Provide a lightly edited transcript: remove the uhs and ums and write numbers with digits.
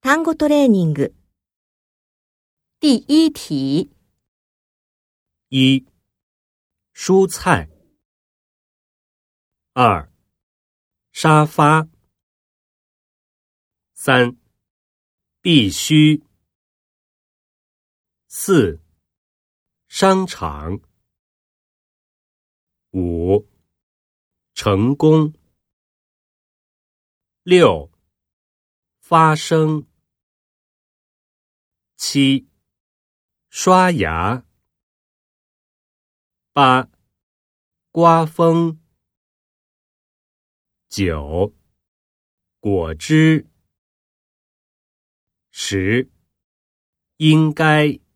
単語トレーニング。第一题。 1、蔬菜。2、沙发。3、必须。4、商场。5、成功。6、发生。7、刷牙。8、刮风。9、果汁。10、应该。